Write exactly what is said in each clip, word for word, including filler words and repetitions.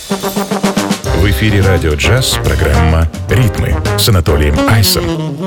В эфире «Радио Джаз» программа «Ритмы» с Анатолием Айсом.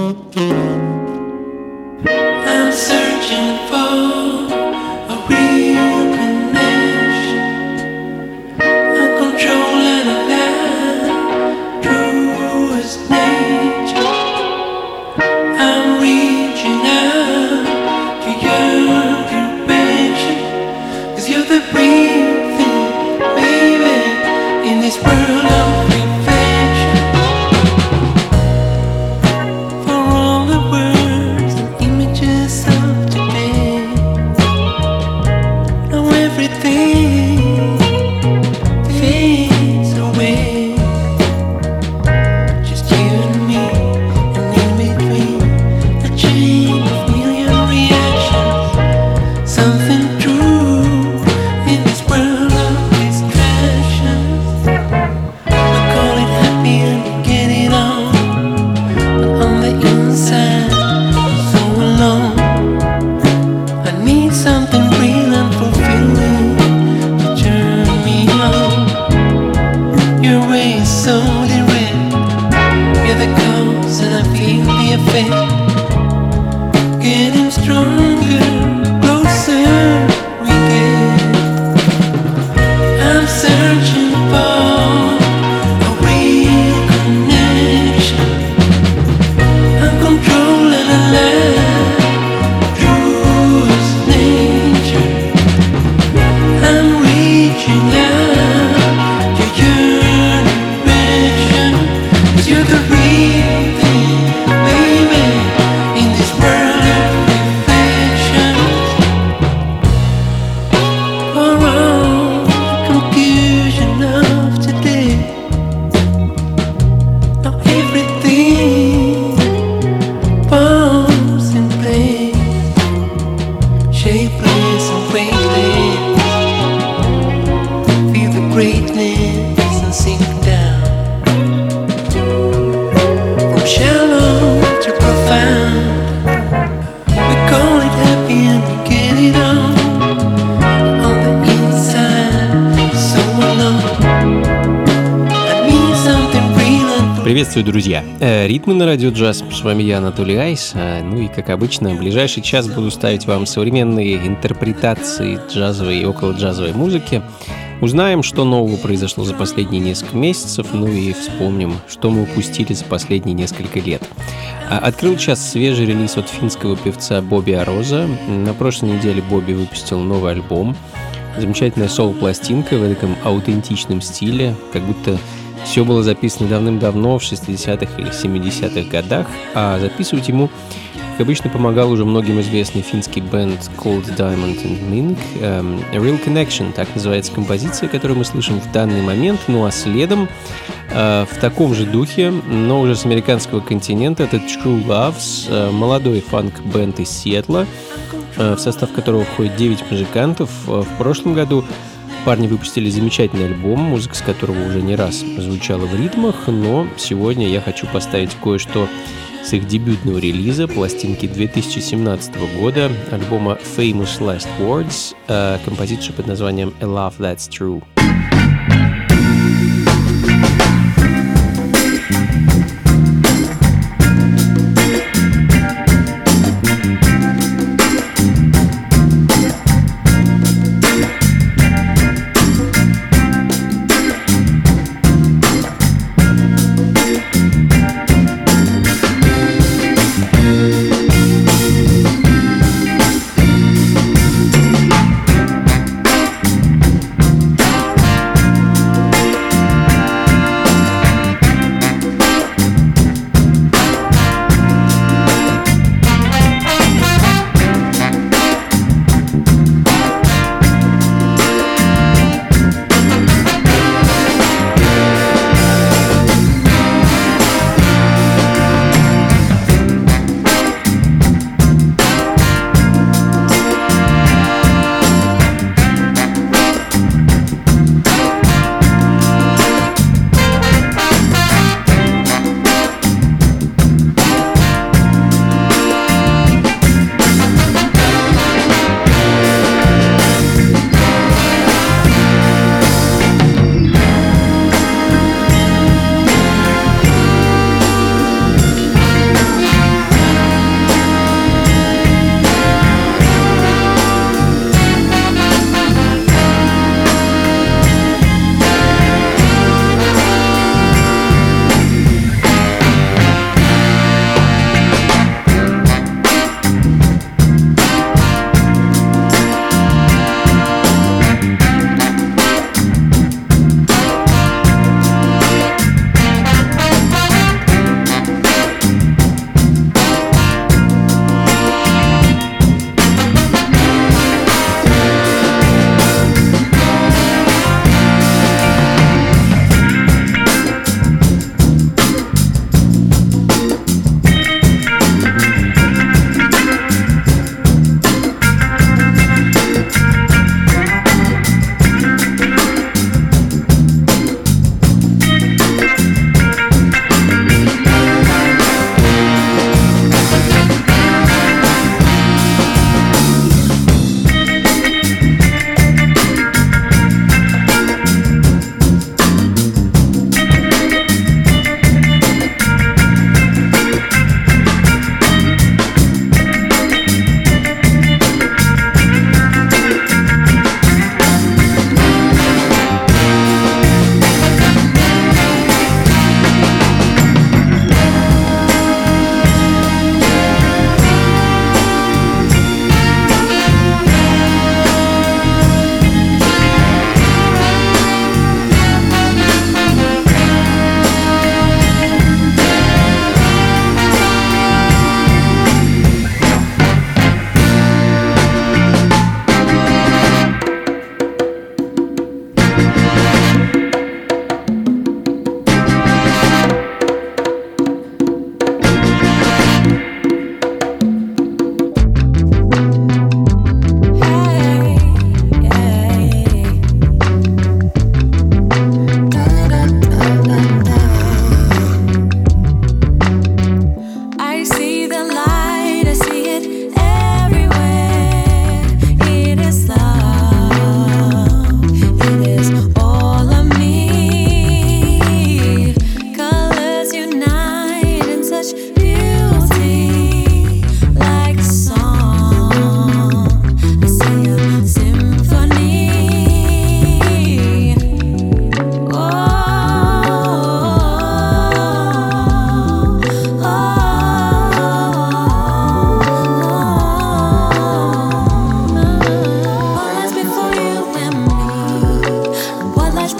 Приветствую, друзья! Ритмы на радио джаз. С вами я, Анатолий Айс. Ну и, как обычно, в ближайший час буду ставить вам современные интерпретации джазовой и околоджазовой музыки. Узнаем, что нового произошло за последние несколько месяцев, ну и вспомним, что мы упустили за последние несколько лет. Открыл час свежий релиз от финского певца Бобби Ароза. На прошлой неделе Бобби выпустил новый альбом. Замечательная соло-пластинка в таком аутентичном стиле, как будто все было записано давным-давно, в шестидесятых или семидесятых годах, а записывать ему, как обычно, помогал уже многим известный финский бенд Cold Diamond and Mink. Um, A Real Connection, так называется композиция, которую мы слышим в данный момент. Ну а следом, uh, в таком же духе, но уже с американского континента, это True Loves, uh, молодой фанк-бенд из Сиэтла, uh, в состав которого входит девять музыкантов. Uh, в прошлом году парни выпустили замечательный альбом, музыка с которого уже не раз звучала в ритмах, но сегодня я хочу поставить кое-что с их дебютного релиза, пластинки две тысячи семнадцатого года, альбома Famous Last Words, э, композицию под названием A Love That's True.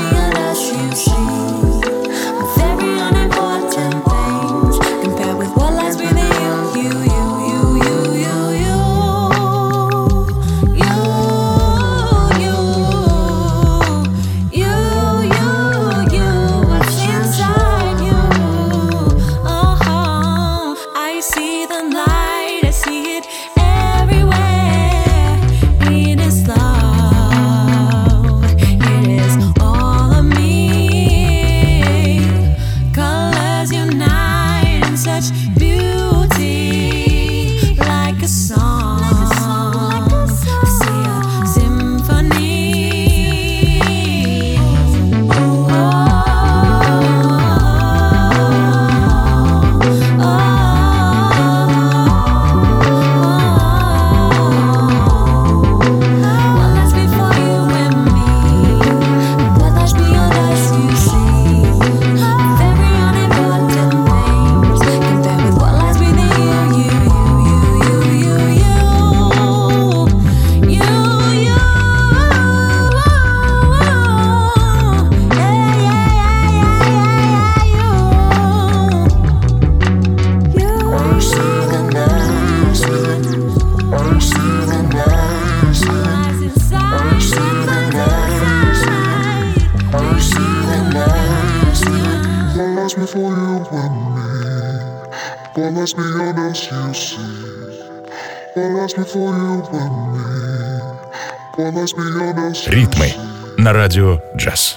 Ритмы на радио «Джаз».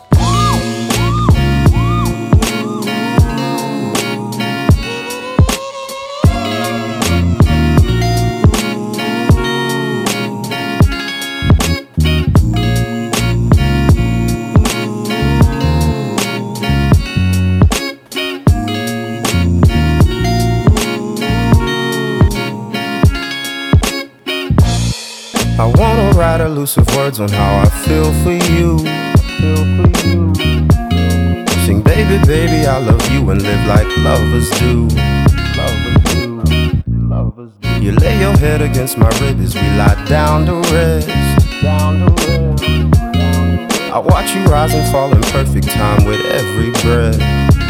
Elusive words on how I feel for you. Sing, baby, baby, I love you and live like lovers do. You lay your head against my rib as we lie down to rest. I watch you rise and fall in perfect time with every breath.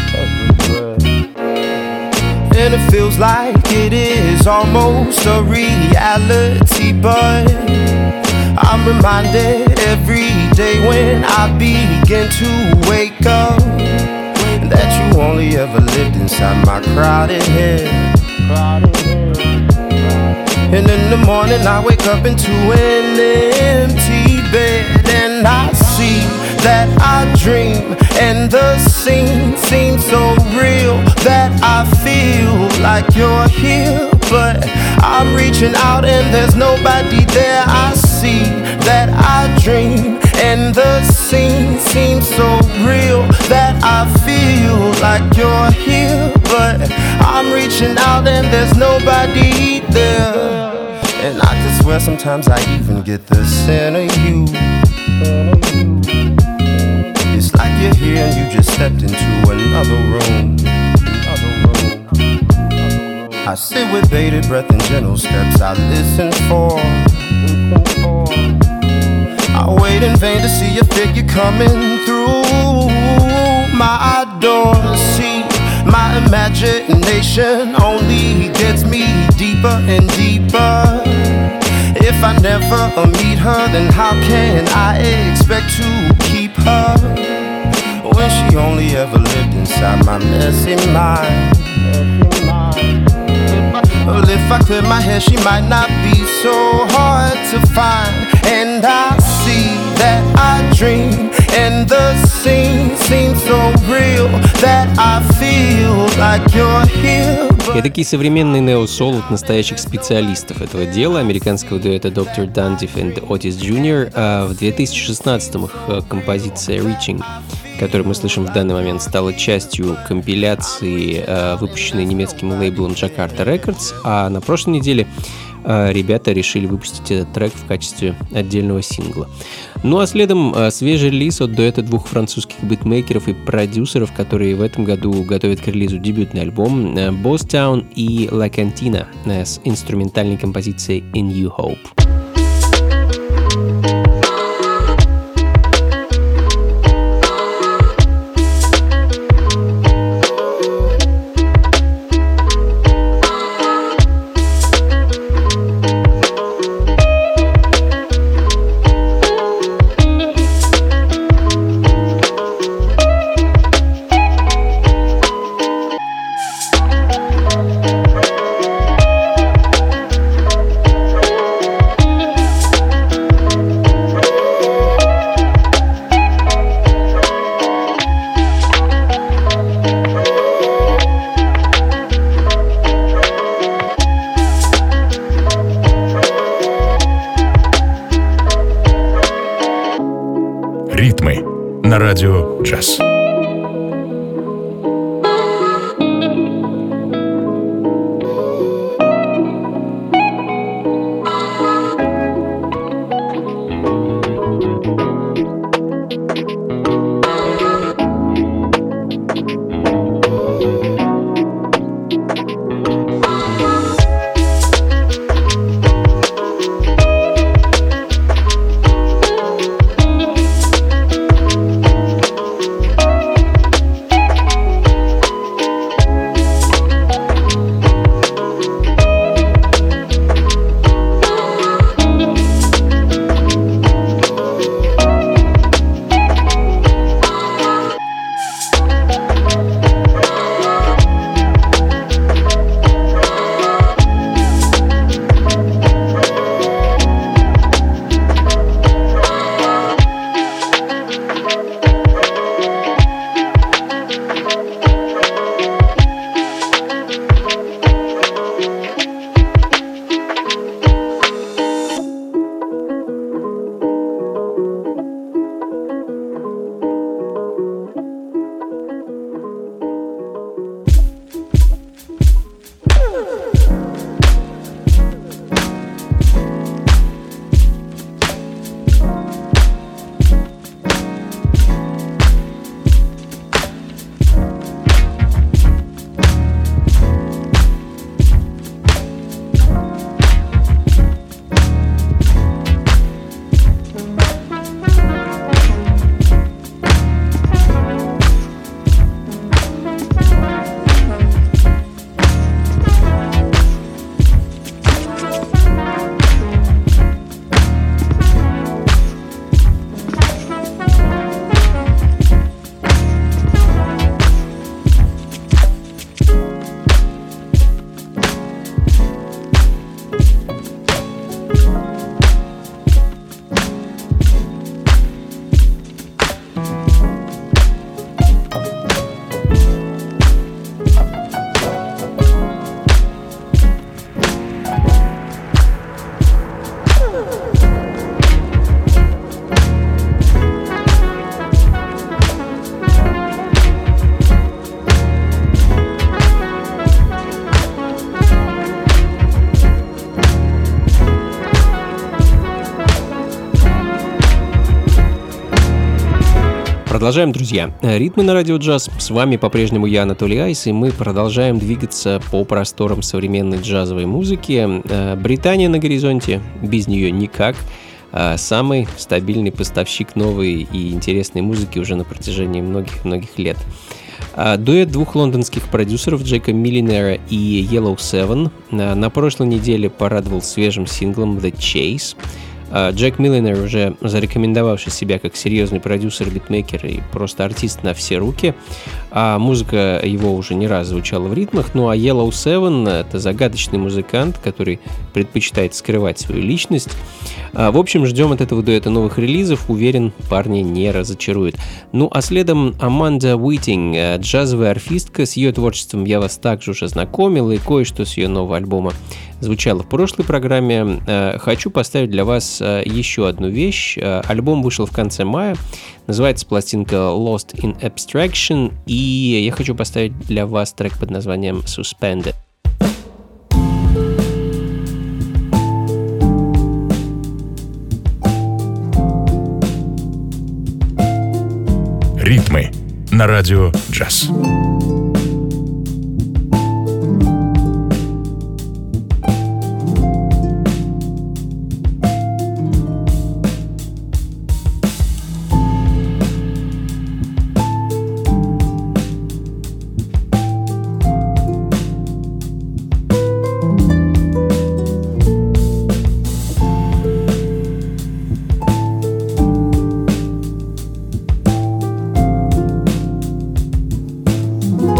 And it feels like it is almost a reality, but I'm reminded every day when I begin to wake up that you only ever lived inside my crowded head. And in the morning I wake up into an empty bed, and I see that I dream, and the scene seems so real that I feel like you're here, but I'm reaching out and there's nobody there. I see that I dream, and the scene seems so real that I feel like you're here, but I'm reaching out and there's nobody there. And I could swear sometimes I even get the scent of you. It's like you're here and you just stepped into another room. I sit with bated breath and gentle steps I listen for. I wait in vain to see your figure coming through my door. See, my imagination only gets me deeper and deeper. If I never meet her, then how can I expect to keep her when she only ever lived inside my messy mind? Well, if I clear my hair, she might not be so hard to find. And I see that I dream, and the scene seems so real that I feel like you're here. Эдакий современный нео-сол от настоящих специалистов этого дела, американского дуэта доктор Дандиф и Otis Джуниор. А в две тысячи шестнадцатом их композиция «Reaching», которую мы слышим в данный момент, стала частью компиляции, выпущенной немецким лейблом Jakarta Records, а на прошлой неделе ребята решили выпустить этот трек в качестве отдельного сингла. Ну а следом свежий релиз от дуэта двух французских битмейкеров и продюсеров, которые в этом году готовят к релизу дебютный альбом, Boss Town и La Cantina с инструментальной композицией A New Hope. радио «Джаз». Продолжаем, друзья. Ритмы на радио «Джаз». С вами по-прежнему я, Анатолий Айс, и мы продолжаем двигаться по просторам современной джазовой музыки. Британия на горизонте, без нее никак. Самый стабильный поставщик новой и интересной музыки уже на протяжении многих-многих лет. Дуэт двух лондонских продюсеров Джека Миллинера и Yellow Seven на прошлой неделе порадовал свежим синглом «The Chase». Джек Миллинер, уже зарекомендовавший себя как серьезный продюсер, битмейкер и просто артист на все руки, а музыка его уже не раз звучала в ритмах. Ну а Yellow Seven — это загадочный музыкант, который предпочитает скрывать свою личность. В общем, ждем от этого дуэта новых релизов, уверен, парни не разочаруют. Ну а следом Аманда Уитинг, джазовая арфистка. С ее творчеством я вас также уже знакомил, и кое-что с ее нового альбома звучало в прошлой программе. Хочу поставить для вас еще одну вещь. Альбом вышел в конце мая, называется пластинка Lost in Abstraction, и я хочу поставить для вас трек под названием Suspended. Ритмы на радио «Джаз». Thank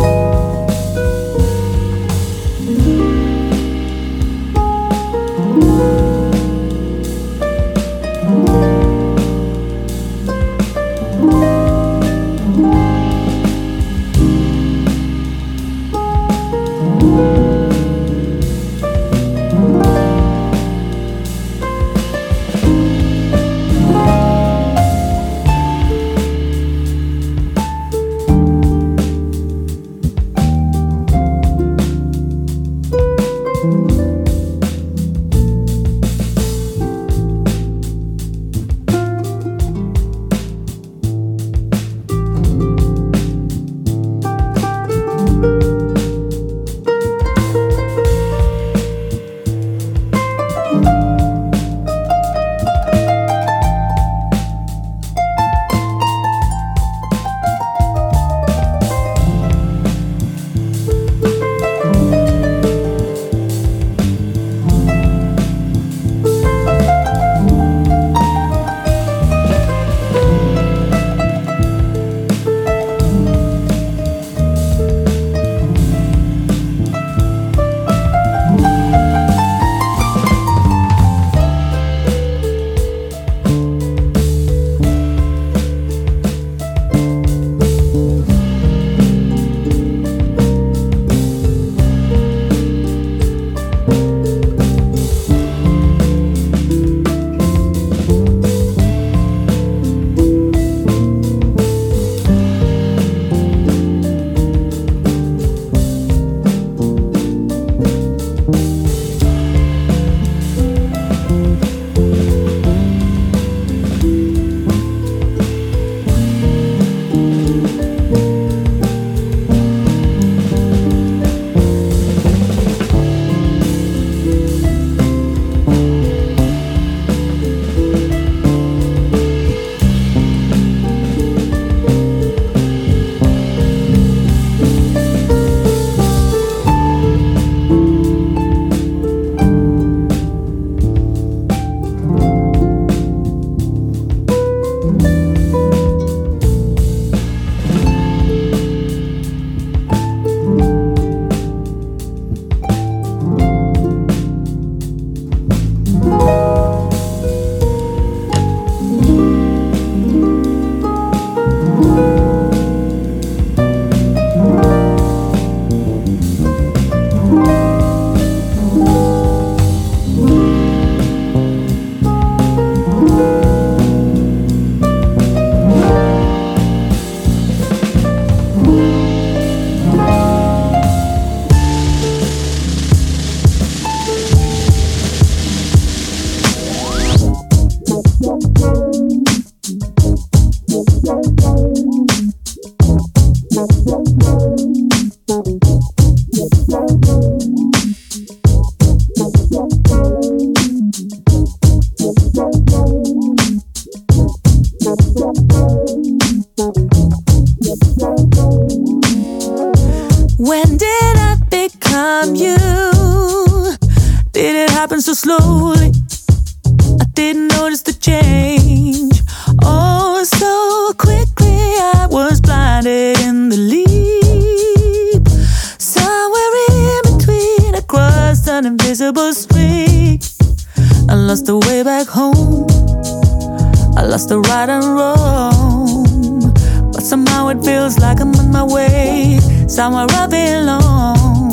happened so slowly. I didn't notice the change. Oh, so quickly I was blinded in the leap. Somewhere in between I crossed an invisible street. I lost the way back home. I lost the right and wrong. But somehow it feels like I'm on my way somewhere I belong.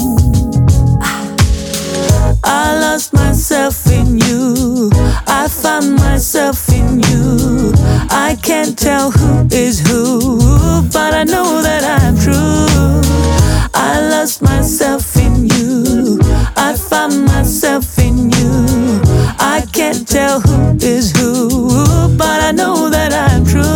I lost myself in you. I found myself in you. I can't tell who is who, but I know that I'm true. I lost myself in you. I found myself in you. I can't tell who is who, but I know that I'm true.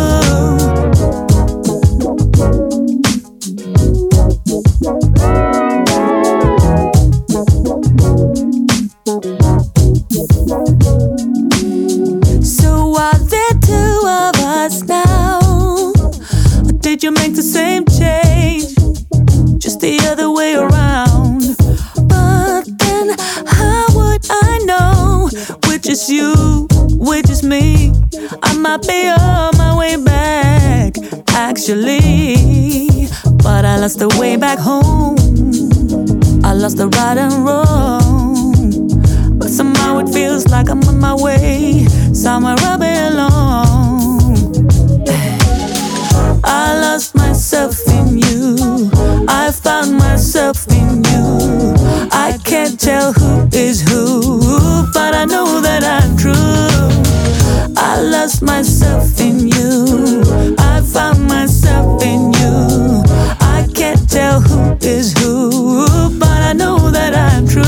So are there two of us now? Or did you make the same change? Just the other way around. But then how would I know which is you, which is me? I might be on my way back, actually. But I lost the way back home. I lost the right and wrong. But somehow it feels like I'm on my way somewhere I belong. I lost myself in you. I found myself in you. I can't tell who is who, but I know that I'm true. I lost myself in you. I found myself in you. I can't tell who is who, but I know that I'm true.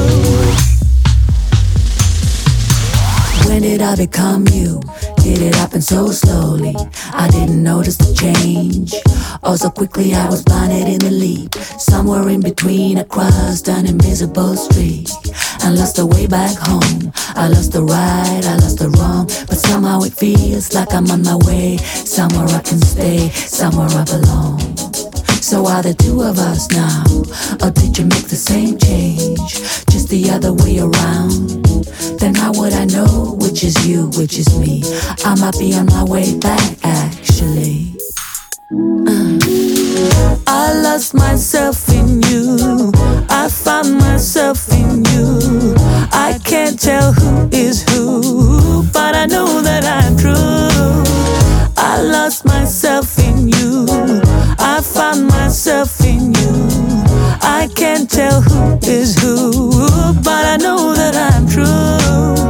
When did I become you? Did it happen so slowly? I didn't notice the change. Oh, so quickly I was blinded in the leap. Somewhere in between I crossed an invisible street and lost the way back home. I lost the right, I lost the wrong, but somehow it feels like I'm on my way somewhere I can stay, somewhere I belong. So are there two of us now? Or did you make the same change? Just the other way around? Then how would I know which is you, which is me? I might be on my way back, actually. uh. I lost myself in you. I found myself in you. I can't tell who is who, but I know that I'm true. I lost myself in you. I found myself in you. I can't tell who is who, but I know that I'm true.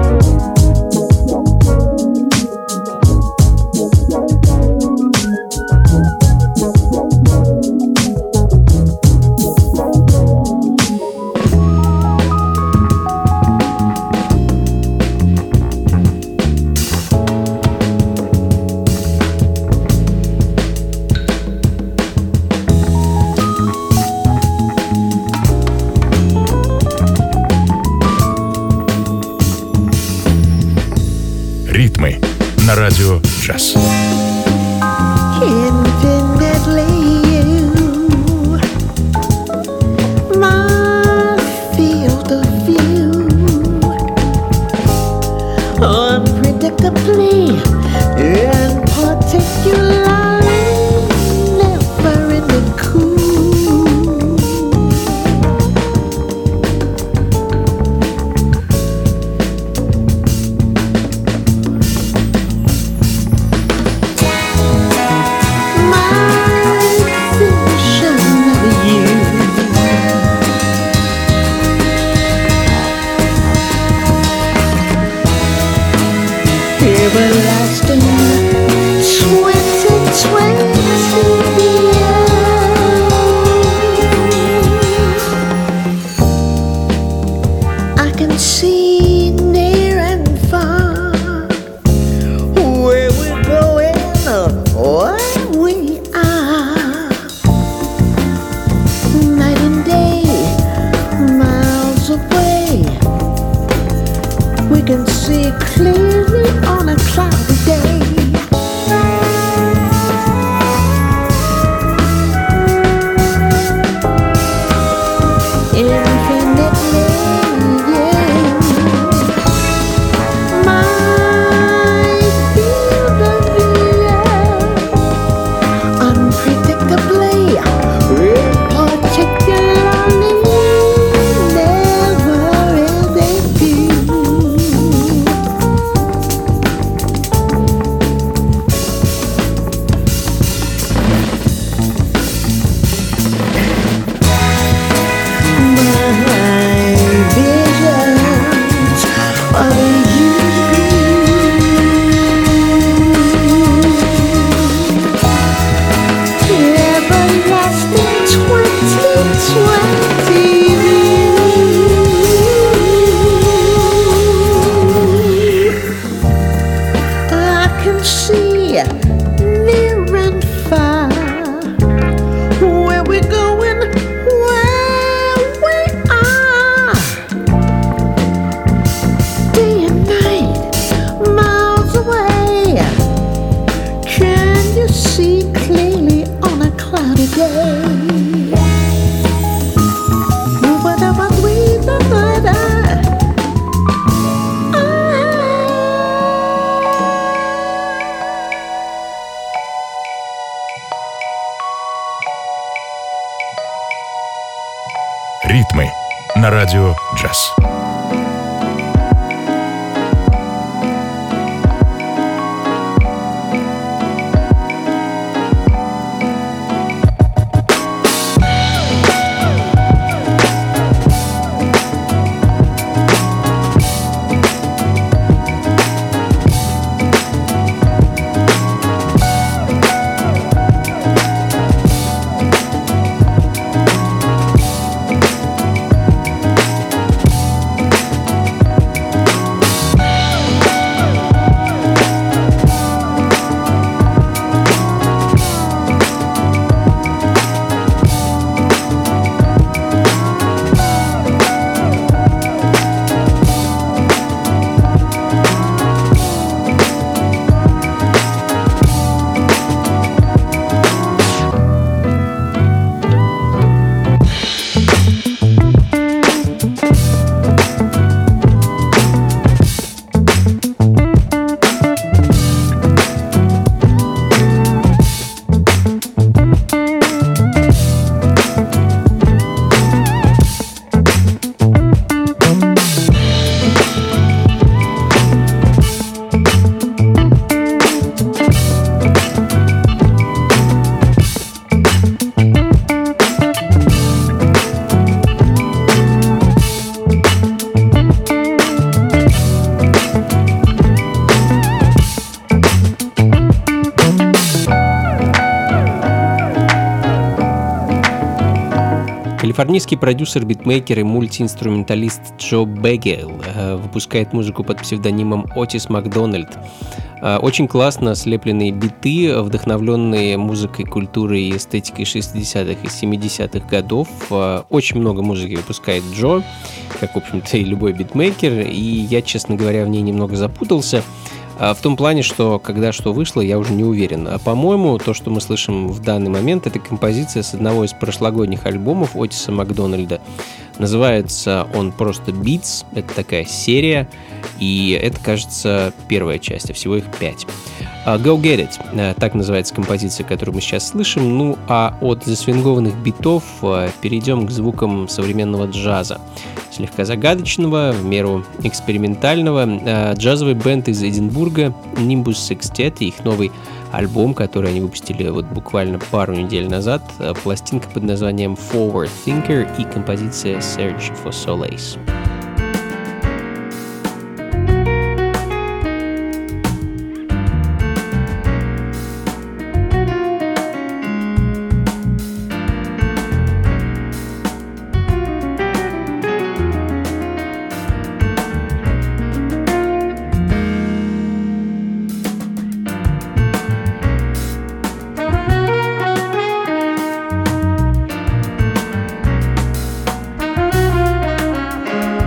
Ритмы на радио Джаз. Unpredictably and particularly never ending cool. Ритмы на радио «Джаз». Калифорнийский продюсер, битмейкер и мультиинструменталист Джо Бегел выпускает музыку под псевдонимом Отис Макдональд. Очень классно слепленные биты, вдохновленные музыкой, культурой и эстетикой шестидесятых и семидесятых годов. Очень много музыки выпускает Джо, как, в общем-то, и любой битмейкер, и я, честно говоря, в ней немного запутался. В том плане, что когда что вышло, я уже не уверен. А по-моему, то, что мы слышим в данный момент, это композиция с одного из прошлогодних альбомов Отиса Макдональда. Называется он просто Beats, это такая серия, и это, кажется, первая часть, а всего их пять. Go Get It, так называется композиция, которую мы сейчас слышим. Ну а от засвингованных битов перейдем к звукам современного джаза. Слегка загадочного, в меру экспериментального. Джазовый бенд из Эдинбурга Nimbus Sextet и их новый альбом, который они выпустили вот буквально пару недель назад. Пластинка под названием Forward Thinker и композиция Search for Solace. Thank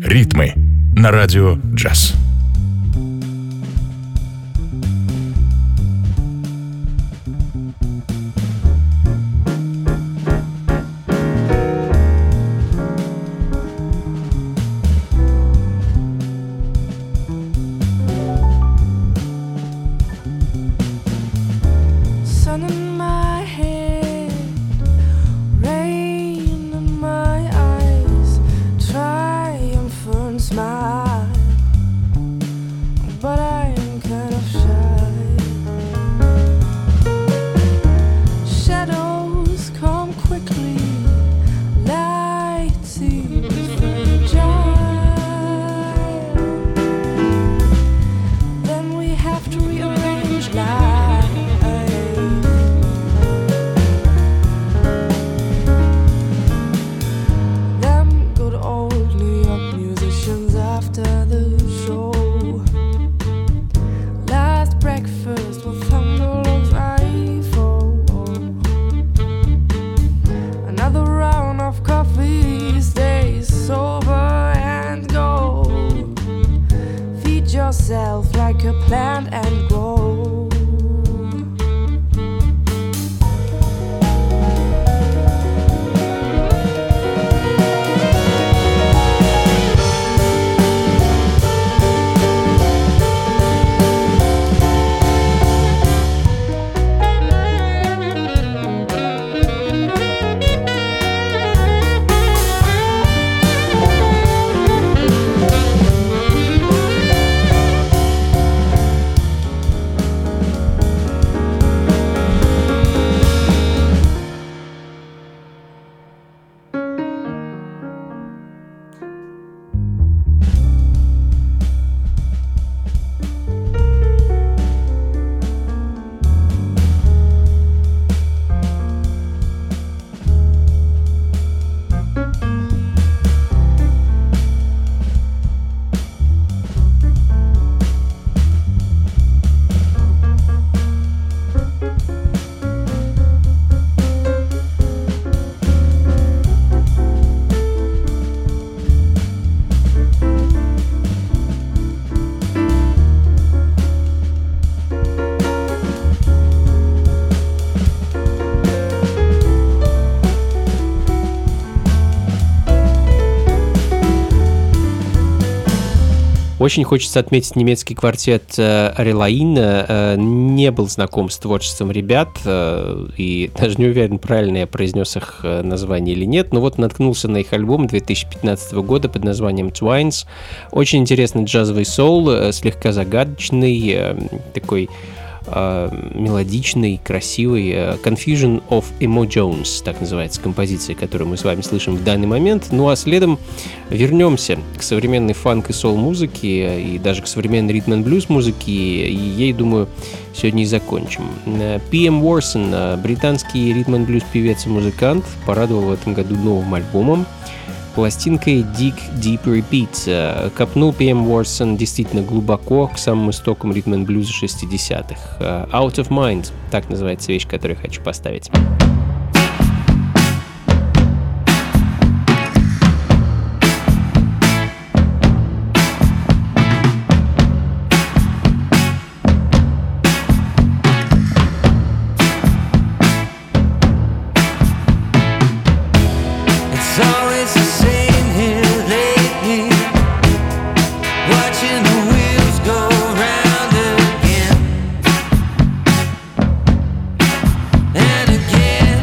«Ритмы» на радио «Джаз». Yourself like a plant and grow. Очень хочется отметить немецкий квартет Релаин. Не был знаком с творчеством ребят, и даже не уверен, правильно я произнес их название или нет, но вот наткнулся на их альбом две тысячи пятнадцатого года под названием Twines. Очень интересный джазовый соул, слегка загадочный, такой мелодичный, красивый. Confusion of Emo Jones, так называется композиция, которую мы с вами слышим в данный момент. Ну а следом вернемся к современной фанк и соул-музыке, и даже к современной ритм-н-блюз музыке, и ей, думаю, сегодня и закончим. пи эм Warson, британский ритм-н-блюз певец и музыкант, порадовал в этом году новым альбомом, пластинкой Dig Deep Repeat. Копнул пи эм Warson действительно глубоко к самым истокам ритм-н-блюза шестидесятых. Out of Mind, так называется вещь, которую я хочу поставить. And again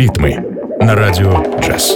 Ритмы на радио джаз.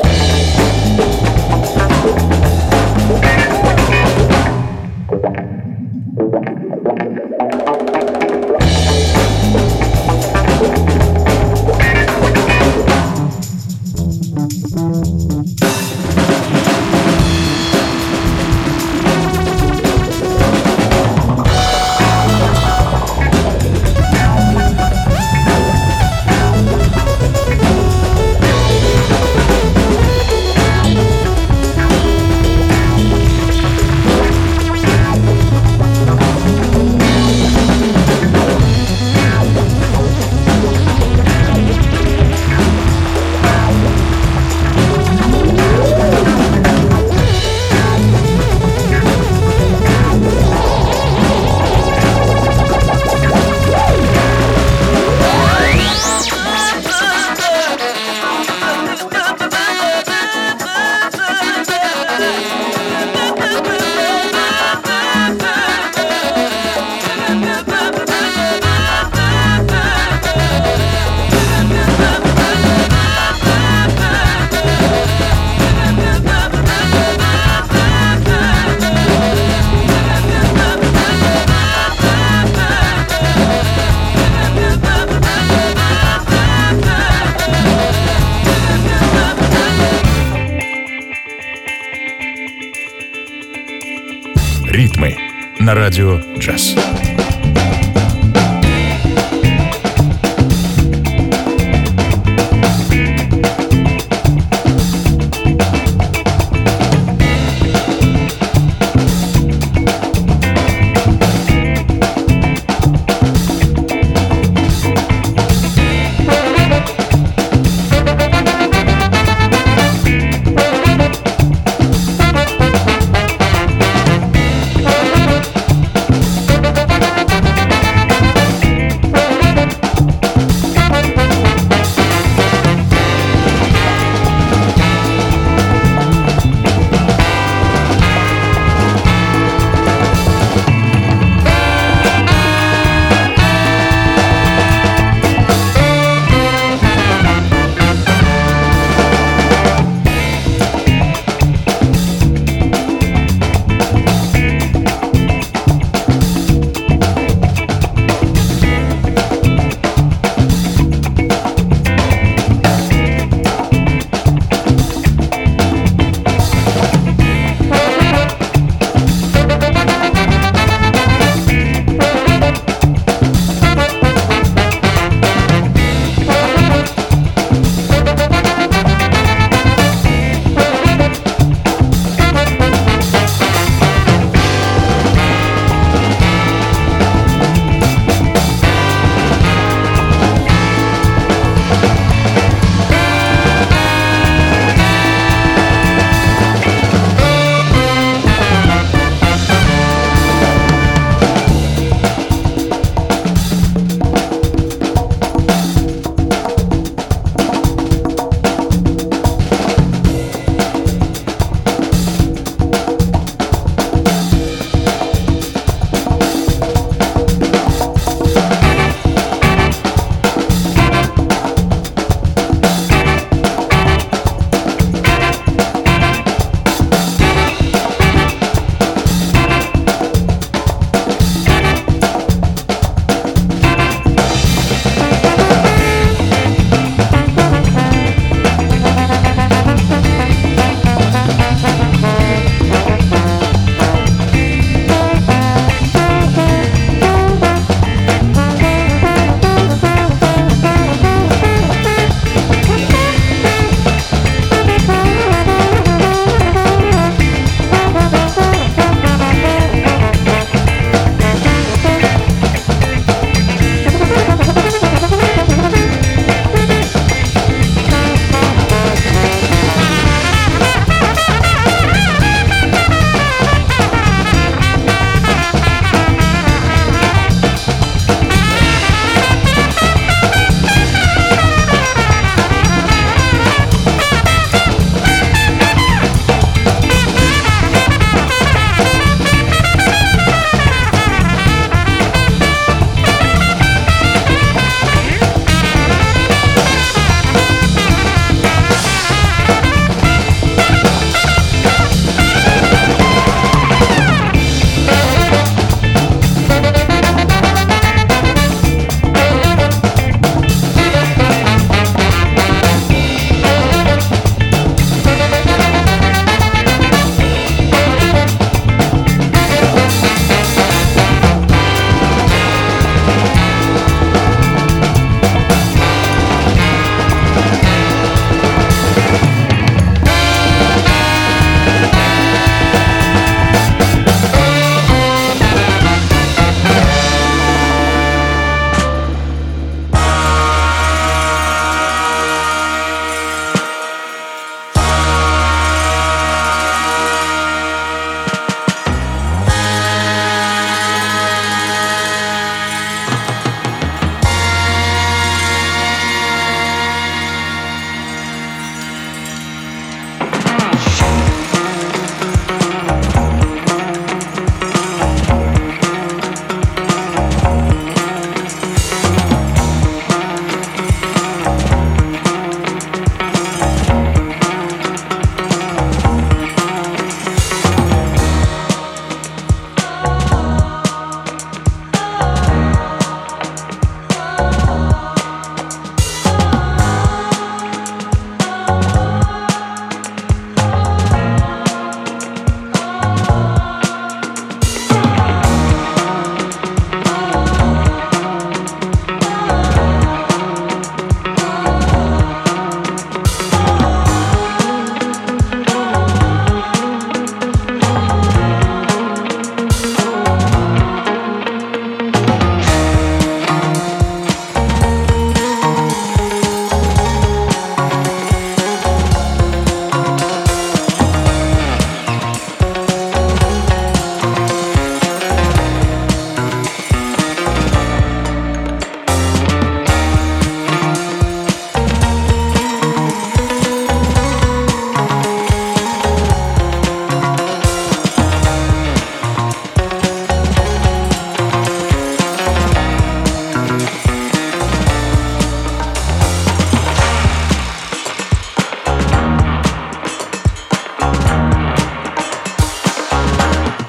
Ритмы на радио джаз.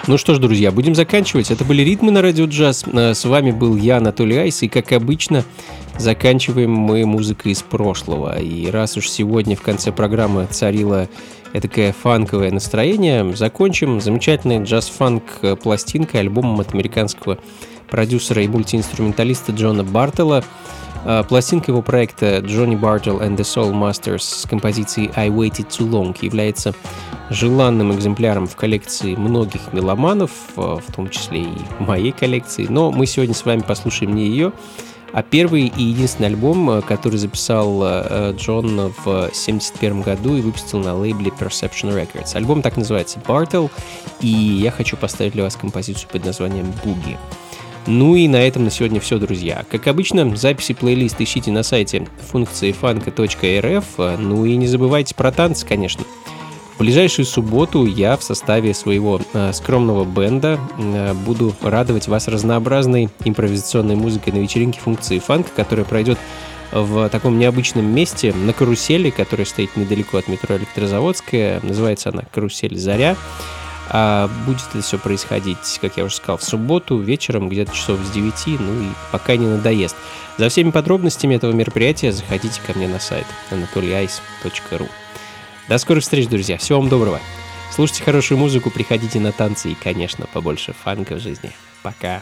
Ну что ж, друзья, будем заканчивать. Это были «Ритмы» на Радио Джаз. С вами был я, Анатолий Айс, и, как обычно, заканчиваем мы музыкой из прошлого. И раз уж сегодня в конце программы царило этакое фанковое настроение, закончим замечательной джаз-фанк пластинкой, альбомом от американского продюсера и мультиинструменталиста Джона Бартелла. Пластинка его проекта Johnny Bartel and the Soul Masters с композицией I Waited Too Long является желанным экземпляром в коллекции многих меломанов, в том числе и моей коллекции. Но мы сегодня с вами послушаем не ее, а первый и единственный альбом, который записал Джон в семьдесят первом году и выпустил на лейбле Perception Records. Альбом так называется Bartel, и я хочу поставить для вас композицию под названием Boogie. Ну и на этом на сегодня все, друзья. Как обычно, записи плейлист ищите на сайте функции фанка точка эр эф. Ну и не забывайте про танцы, конечно. В ближайшую субботу я в составе своего э, скромного бенда э, буду радовать вас разнообразной импровизационной музыкой на вечеринке функции фанка, которая пройдет в таком необычном месте на карусели, которая стоит недалеко от метро Электрозаводская. Называется она «Карусель Заря». А будет это все происходить, как я уже сказал, в субботу вечером, где-то часов с девяти, ну и пока не надоест. За всеми подробностями этого мероприятия заходите ко мне на сайт анатолий айс точка ру. До скорых встреч, друзья. Всего вам доброго. Слушайте хорошую музыку, приходите на танцы и, конечно, побольше фанка в жизни. Пока.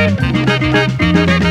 Thank you.